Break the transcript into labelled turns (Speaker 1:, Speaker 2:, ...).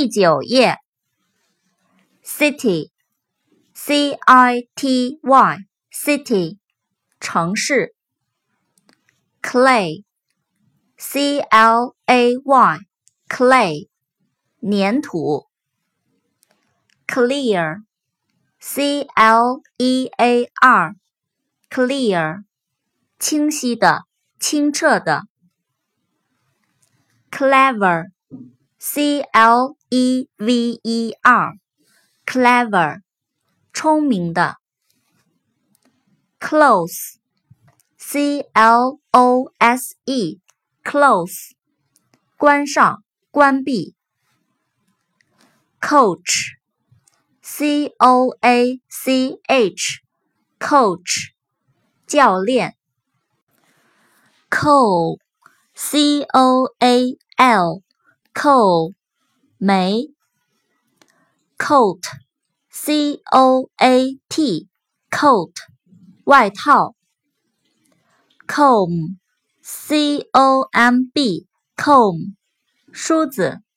Speaker 1: 第9页 City C-I-T-Y City 城市 Clay C-L-A-Y Clay 粘土 Clear C-L-E-A-R Clear 清晰的清澈的 Clever C-L-E-V-E-R Clever 聪明的 Close C-L-O-S-E Close 关上关闭 Coach C-O-A-C-H Coach 教练 Coal C-O-A-L Coal 煤 Coat C-O-A-T Coat 外套 Comb C-O-M-B Comb 梳子